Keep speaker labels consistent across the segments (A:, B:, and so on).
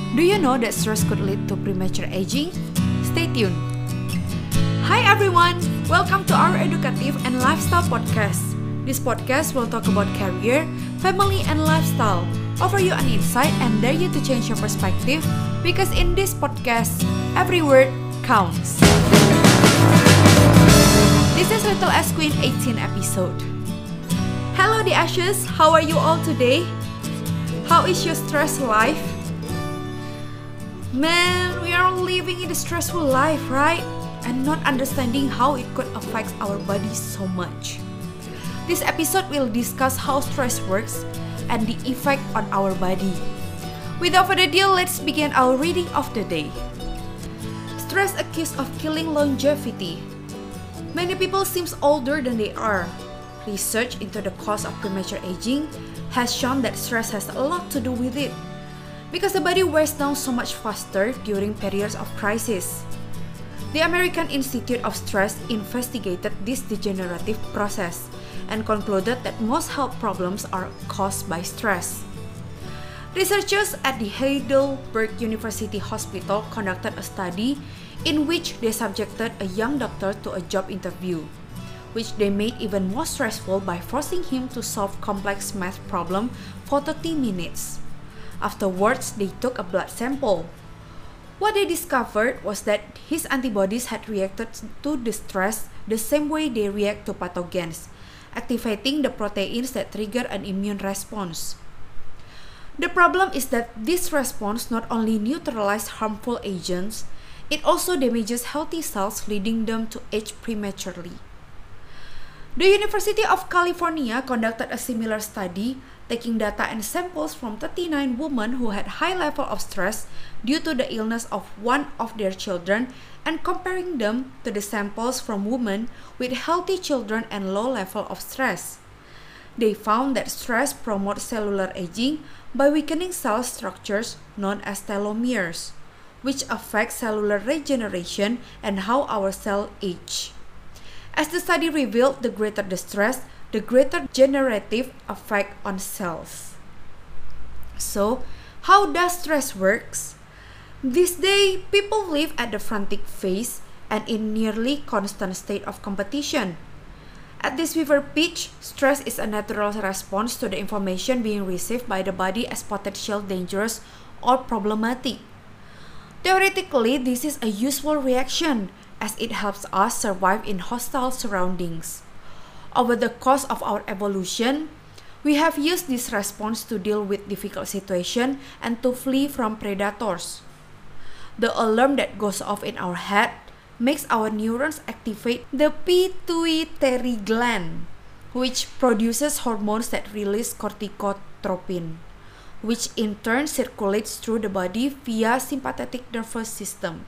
A: Do you know that stress could lead to premature aging? Stay tuned. Hi everyone! Welcome to our educative and lifestyle podcast. This podcast will talk about career, family, and lifestyle, offer you an insight and dare you to change your perspective because in this podcast, every word counts. This is Little S Queen 18 episode. Hello the Ashes, how are you all today? How is your stress life? Man, we are all living in a stressful life, right? And not understanding how it could affect our bodies so much. This episode will discuss how stress works and the effect on our body. Without further ado, let's begin our reading of the day. Stress accused of killing longevity. Many people seem older than they are. Research into the cause of premature aging has shown that stress has a lot to do with it, because the body wears down so much faster during periods of crisis. The American Institute of Stress investigated this degenerative process and concluded that most health problems are caused by stress. Researchers at the Heidelberg University Hospital conducted a study in which they subjected a young doctor to a job interview, which they made even more stressful by forcing him to solve complex math problems for 30 minutes. Afterwards, they took a blood sample. What they discovered was that his antibodies had reacted to the stress the same way they react to pathogens, activating the proteins that trigger an immune response. The problem is that this response not only neutralizes harmful agents, it also damages healthy cells, leading them to age prematurely. The University of California conducted a similar study, taking data and samples from 39 women who had high level of stress due to the illness of one of their children and comparing them to the samples from women with healthy children and low level of stress. They found that stress promotes cellular aging by weakening cell structures known as telomeres, which affect cellular regeneration and how our cells age. As the study revealed, the greater the stress, the greater generative effect on cells. So, how does stress works? This day, people live at the frantic phase and in nearly constant state of competition. At this fever pitch, stress is a natural response to the information being received by the body as potential dangerous or problematic. Theoretically, this is a useful reaction as it helps us survive in hostile surroundings. Over the course of our evolution, we have used this response to deal with difficult situations and to flee from predators. The alarm that goes off in our head makes our neurons activate the pituitary gland, which produces hormones that release corticotropin, which in turn circulates through the body via sympathetic nervous system.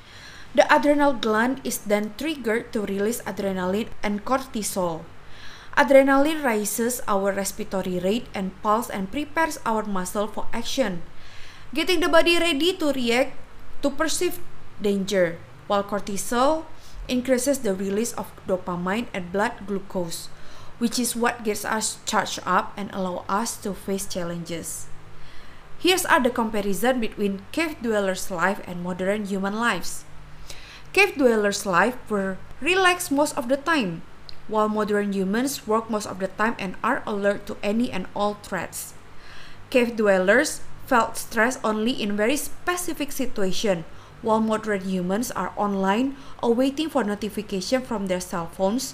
A: The adrenal gland is then triggered to release adrenaline and cortisol. Adrenaline raises our respiratory rate and pulse and prepares our muscle for action, getting the body ready to react to perceived danger, while cortisol increases the release of dopamine and blood glucose, which is what gets us charged up and allow us to face challenges. Here's the comparison between cave dwellers' life and modern human lives. Cave dwellers' life were relaxed most of the time, while modern humans work most of the time and are alert to any and all threats. Cave dwellers felt stress only in very specific situations, while modern humans are online or waiting for notification from their cell phones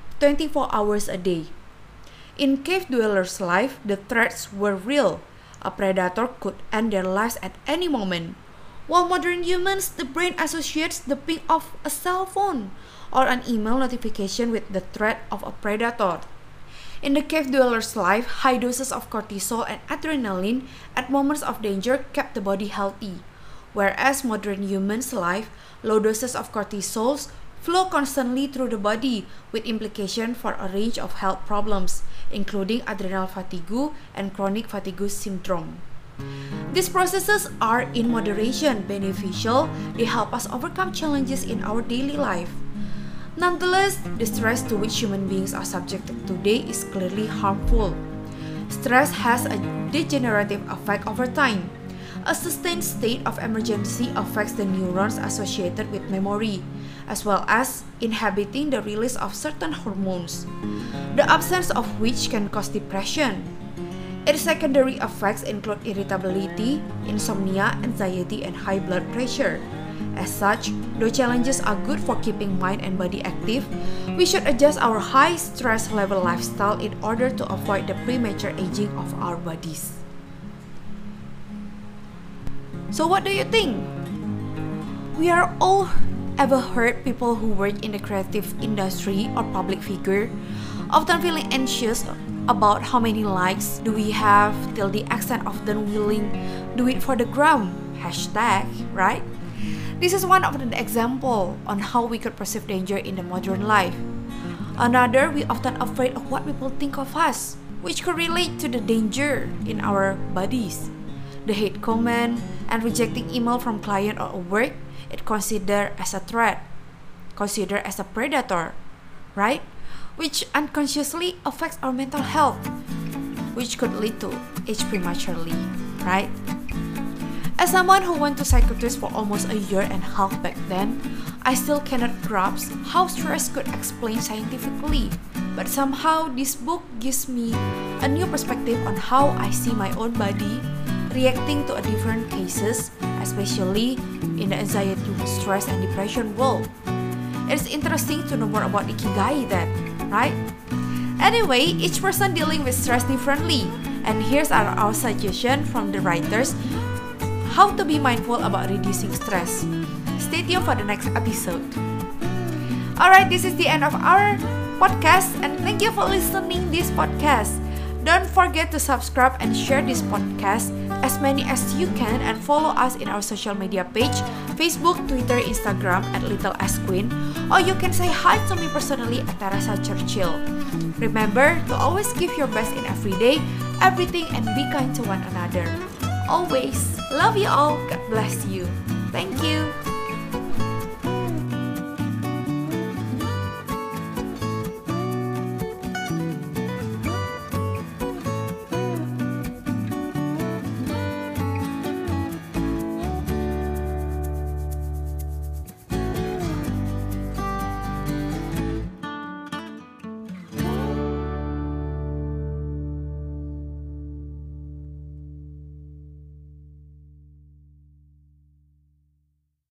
A: 24 hours a day. In cave dwellers' life, the threats were real. A predator could end their lives at any moment. While modern humans, the brain associates the ping of a cell phone or an email notification with the threat of a predator. In the cave dweller's life, high doses of cortisol and adrenaline at moments of danger kept the body healthy, whereas modern humans' life, low doses of cortisol flow constantly through the body with implication for a range of health problems, including adrenal fatigue and chronic fatigue syndrome. These processes are in moderation beneficial. They help us overcome challenges in our daily life. Nonetheless, the stress to which human beings are subjected today is clearly harmful. Stress has a degenerative effect over time. A sustained state of emergency affects the neurons associated with memory, as well as inhibiting the release of certain hormones, the absence of which can cause depression. Its secondary effects include irritability, insomnia, anxiety, and high blood pressure. As such, though challenges are good for keeping mind and body active, we should adjust our high stress level lifestyle in order to avoid the premature aging of our bodies. So what do you think? We are all ever heard people who work in the creative industry or public figure often feeling anxious about how many likes do we have till the extent of them willing do it for the gram, hashtag, right? This is one of the example on how we could perceive danger in the modern life. Another, we often afraid of what people think of us, which could relate to the danger in our bodies. The hate comment and rejecting email from client or work, it considered as a threat, considered as a predator, right? Which unconsciously affects our mental health, which could lead to age prematurely, right? As someone who went to psychiatrist for almost a year and a half back then, I still cannot grasp how stress could explain scientifically. But somehow this book gives me a new perspective on how I see my own body reacting to a different cases, especially in the anxiety, stress, and depression world. It's interesting to know more about Ikigai then, right? Anyway, each person dealing with stress differently, and here's our suggestion from the writers how to be mindful about reducing stress. Stay tuned for the next episode. Alright, this is the end of our podcast, and thank you for listening this podcast. Don't forget to subscribe and share this podcast as many as you can, and follow us in our social media page, Facebook, Twitter, Instagram at Little S Queen, or you can say hi to me personally at Teresa Churchill. Remember to always give your best in every day, everything, and be kind to one another. Always. Love you all. God bless you. Thank you.